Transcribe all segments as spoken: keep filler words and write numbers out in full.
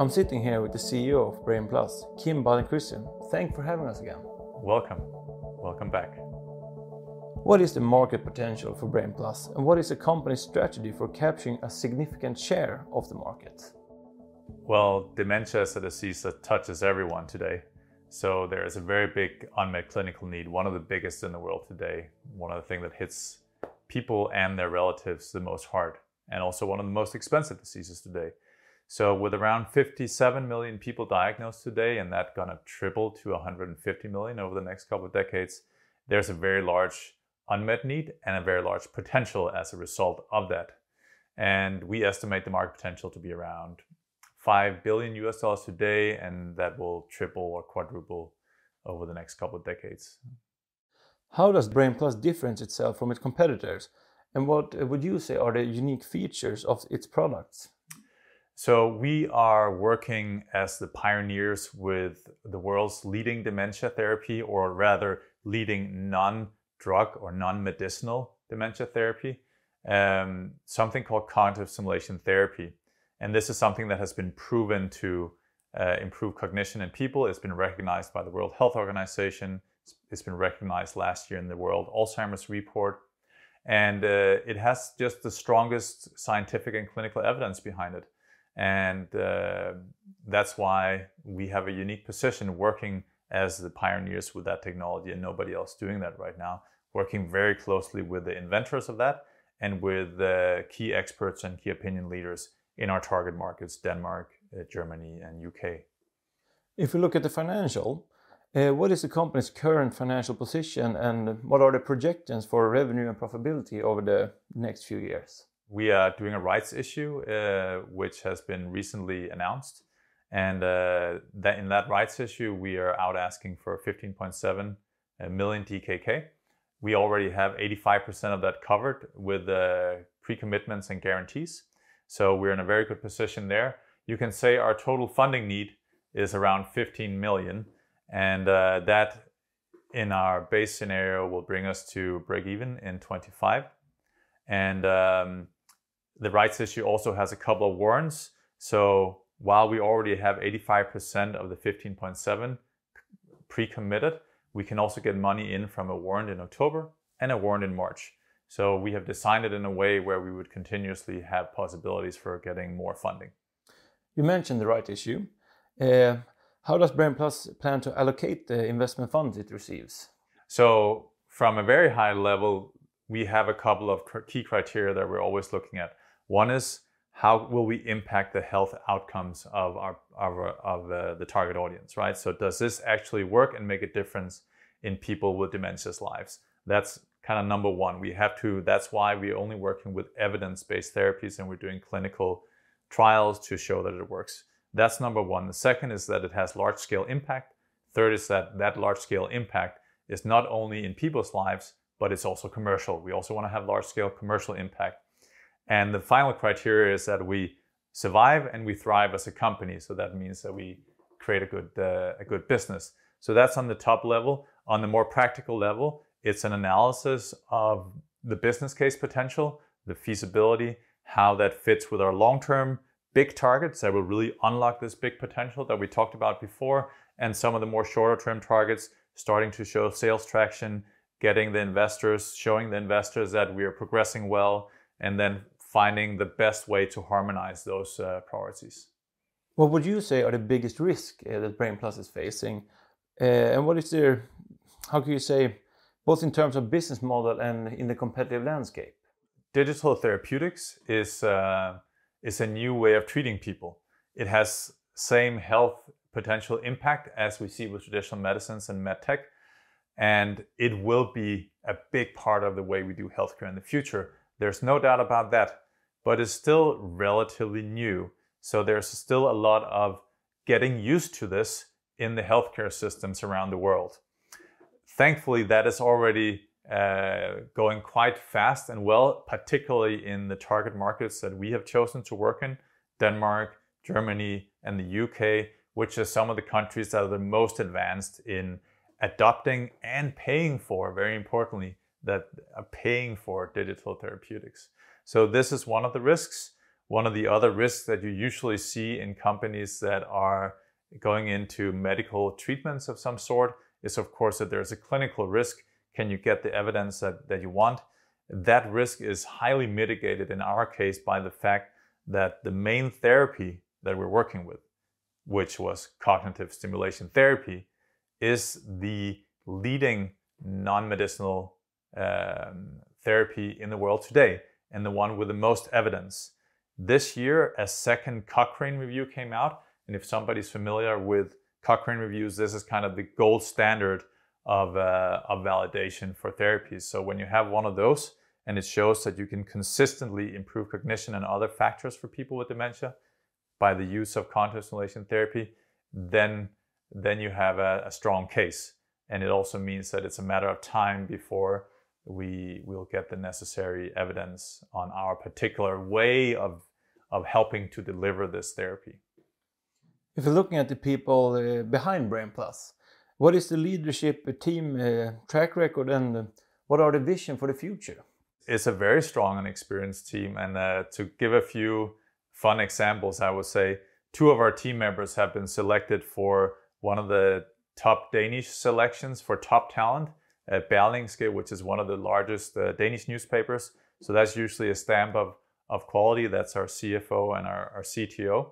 I'm sitting here with the C E O of Brain Plus, Kim Baden-Christian. Thanks for having us again. Welcome. Welcome back. What is the market potential for Brain Plus, and what is the company's strategy for capturing a significant share of the market? Well, dementia is a disease that touches everyone today. So there is a very big unmet clinical need, one of the biggest in the world today, one of the things that hits people and their relatives the most hard, and also one of the most expensive diseases today. So with around fifty-seven million people diagnosed today, and that gonna triple to one hundred fifty million over the next couple of decades, there's a very large unmet need and a very large potential as a result of that. And we estimate the market potential to be around five billion U S dollars today, and that will triple or quadruple over the next couple of decades. How does Brain Plus differentiate itself from its competitors? And what would you say are the unique features of its products? So we are working as the pioneers with the world's leading dementia therapy, or rather leading non-drug or non-medicinal dementia therapy, um, something called cognitive stimulation therapy. And this is something that has been proven to uh, improve cognition in people. It's been recognized by the World Health Organization. It's been recognized last year in the World Alzheimer's Report. And uh, it has just the strongest scientific and clinical evidence behind it. And uh, that's why we have a unique position working as the pioneers with that technology, and nobody else doing that right now, working very closely with the inventors of that and with the key experts and key opinion leaders in our target markets, Denmark, uh, Germany, and U K. If we look at the financial, uh, what is the company's current financial position, and what are the projections for revenue and profitability over the next few years? We are doing a rights issue, uh, which has been recently announced. And uh, that in that rights issue, we are out asking for fifteen point seven million D K K. We already have eighty-five percent of that covered with uh, pre-commitments and guarantees. So we're in a very good position there. You can say our total funding need is around fifteen million. And uh, that in our base scenario will bring us to break even in twenty-five. And um, the rights issue also has a couple of warrants. So while we already have eighty-five percent of the fifteen point seven pre-committed, we can also get money in from a warrant in October and a warrant in March. So we have designed it in a way where we would continuously have possibilities for getting more funding. You mentioned the right issue. Uh, how does Brain Plus plan to allocate the investment funds it receives? So from a very high level, we have a couple of key criteria that we're always looking at. One is, how will we impact the health outcomes of our, our of uh, the target audience, right? So does this actually work and make a difference in people with dementia's lives? That's kind of number one. We have to, that's why we're only working with evidence-based therapies, and we're doing clinical trials to show that it works. That's number one. The second is that it has large-scale impact. Third is that that large-scale impact is not only in people's lives, but it's also commercial. We also want to have large-scale commercial impact. And the final criteria is that we survive and we thrive as a company. So that means that we create a good, uh, a good business. So that's on the top level. On the more practical level, it's an analysis of the business case potential, the feasibility, how that fits with our long-term big targets that will really unlock this big potential that we talked about before, and some of the more shorter-term targets starting to show sales traction, getting the investors, showing the investors that we are progressing well, and then finding the best way to harmonize those uh, priorities. What would you say are the biggest risks uh, that Brain Plus is facing? Uh, and what is their, how can you say, both in terms of business model and in the competitive landscape? Digital therapeutics is, uh, is a new way of treating people. It has same health potential impact as we see with traditional medicines and medtech. And it will be a big part of the way we do healthcare in the future. There's no doubt about that, but it's still relatively new. So there's still a lot of getting used to this in the healthcare systems around the world. Thankfully, that is already uh, going quite fast and well, particularly in the target markets that we have chosen to work in, Denmark, Germany, and the U K, which are some of the countries that are the most advanced in adopting and paying for, very importantly, that are paying for digital therapeutics. So this is one of the risks. one of the other risks that you usually see in companies that are going into medical treatments of some sort is, of course, that there's a clinical risk. Can you get the evidence that, that you want? That risk is highly mitigated in our case by the fact that the main therapy that we're working with, which was cognitive stimulation therapy, is the leading non-medicinal um, therapy in the world today, and the one with the most evidence. This year, a second Cochrane review came out, and if somebody's familiar with Cochrane reviews, this is kind of the gold standard of, uh, of validation for therapies. So when you have one of those, and it shows that you can consistently improve cognition and other factors for people with dementia by the use of cognitive stimulation therapy, then, then you have a, a strong case. And it also means that it's a matter of time before we will get the necessary evidence on our particular way of, of helping to deliver this therapy. If you're looking at the people uh, behind Brain+, what is the leadership team uh, track record, and uh, what are the vision for the future? It's a very strong and experienced team, and uh, to give a few fun examples, I would say two of our team members have been selected for one of the top Danish selections for top talent at Berlingske, which is one of the largest uh, Danish newspapers. So that's usually a stamp of, of quality. That's our C F O and our, our C T O.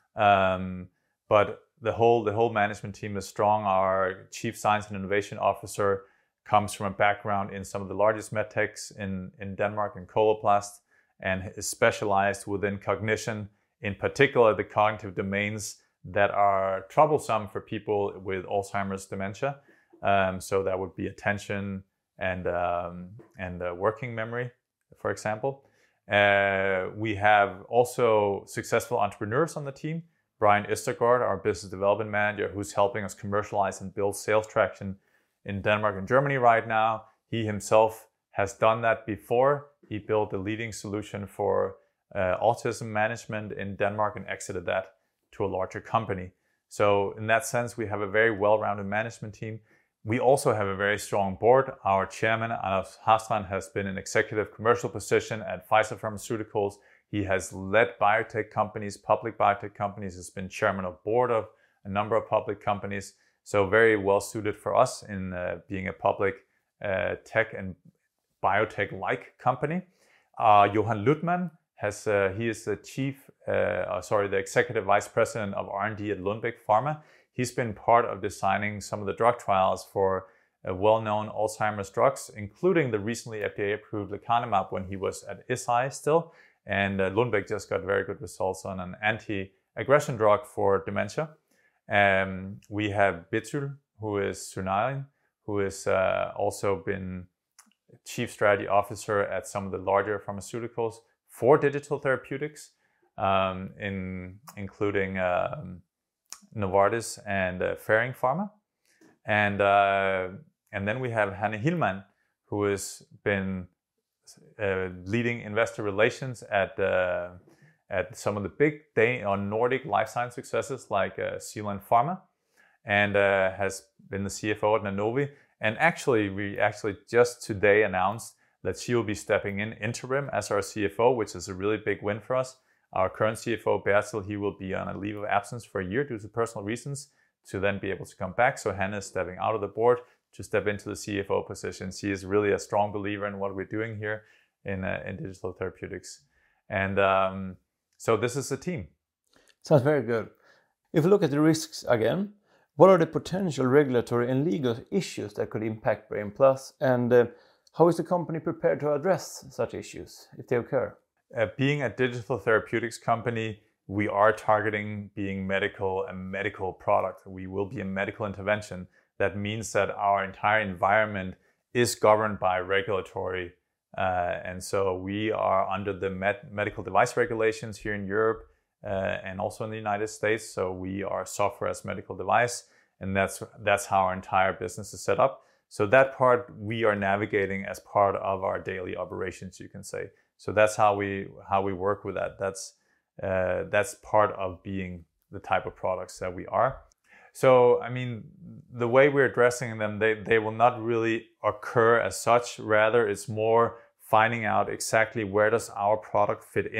Um, but the whole, the whole management team is strong. Our Chief Science and Innovation Officer comes from a background in some of the largest medtechs in, in Denmark, in Coloplast, and is specialized within cognition, in particular the cognitive domains that are troublesome for people with Alzheimer's dementia. Um, so that would be attention and, um, and uh, working memory, for example. Uh, we have also successful entrepreneurs on the team. Brian Østergaard, our business development manager, who's helping us commercialize and build sales traction in Denmark and Germany right now. He himself has done that before. He built a leading solution for uh, autism management in Denmark and exited that to a larger company. So in that sense, we have a very well-rounded management team. We also have a very strong board. Our chairman, Anders Hastrand, has been in executive commercial position at Pfizer Pharmaceuticals. He has led biotech companies, public biotech companies, has been chairman of board of a number of public companies. So very well suited for us in uh, being a public uh, tech and biotech-like company. Uh, Johan Luttmann has, uh, he is the chief, uh, sorry, the executive vice president of R and D at Lundbeck Pharma. He's been part of designing some of the drug trials for uh, well-known Alzheimer's drugs, including the recently F D A-approved lecanemab when he was at Eisai still. And uh, Lundbeck just got very good results on an anti-aggression drug for dementia. Um, we have Betul, who is Sunaylan, who has uh, also been chief strategy officer at some of the larger pharmaceuticals for digital therapeutics, um, in, including um, Novartis and uh, Ferring Pharma. And, uh, and then we have Hanne Hillman, who has been uh, leading investor relations at, uh, at some of the big Dan- or Nordic life science successes like uh, Zealand Pharma, and uh, has been the C F O at Nanovi. And actually, we actually just today announced that she will be stepping in interim as our C F O, which is a really big win for us. Our current C F O, Bertil, he will be on a leave of absence for a year due to personal reasons to then be able to come back. So Hannah is stepping out of the board to step into the C F O position. She is really a strong believer in what we're doing here in, uh, in digital therapeutics. And um, so this is the team. Sounds very good. If we look at the risks again, what are the potential regulatory and legal issues that could impact Brain+, and uh, how is the company prepared to address such issues if they occur? Uh, being a digital therapeutics company, we are targeting being medical, a medical product. We will be a medical intervention. That means that our entire environment is governed by regulatory. Uh, and so we are under the med- medical device regulations here in Europe uh, and also in the United States. So we are software as medical device, and that's, that's how our entire business is set up. So that part we are navigating as part of our daily operations, you can say. So that's how we how we work with that. That's uh, that's part of being the type of products that we are. So I mean, the way we're addressing them, they they will not really occur as such. Rather, it's more finding out exactly where does our product fit in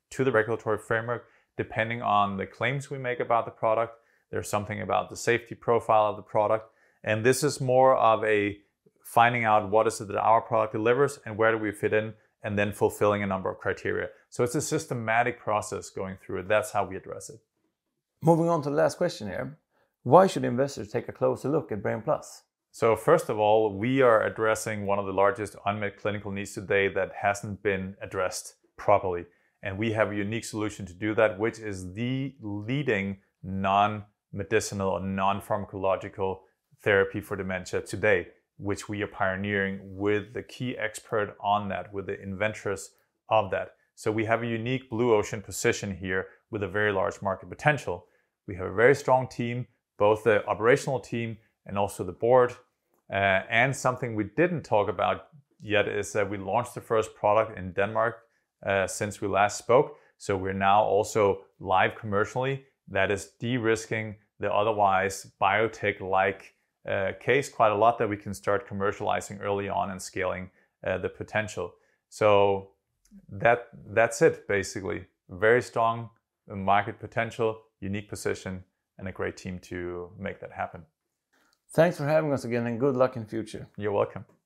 to the regulatory framework depending on the claims we make about the product. There's something about the safety profile of the product. And this is more of a finding out what is it that our product delivers and where do we fit in, and then fulfilling a number of criteria. So it's a systematic process going through it. That's how we address it. Moving on to the last question here. Why should investors take a closer look at Brain+? So first of all, we are addressing one of the largest unmet clinical needs today that hasn't been addressed properly. And we have a unique solution to do that, which is the leading non-medicinal or non-pharmacological therapy for dementia today, which we are pioneering with the key expert on that, with the inventors of that. So we have a unique blue ocean position here with a very large market potential. We have a very strong team, both the operational team and also the board. Uh, and something we didn't talk about yet is that we launched the first product in Denmark uh, since we last spoke. So we're now also live commercially. That is de-risking the otherwise biotech-like uh, case quite a lot, that we can start commercializing early on and scaling uh, the potential. So that that's it, basically. Very strong market potential, unique position, and a great team to make that happen. Thanks for having us again, and good luck in the future. You're welcome.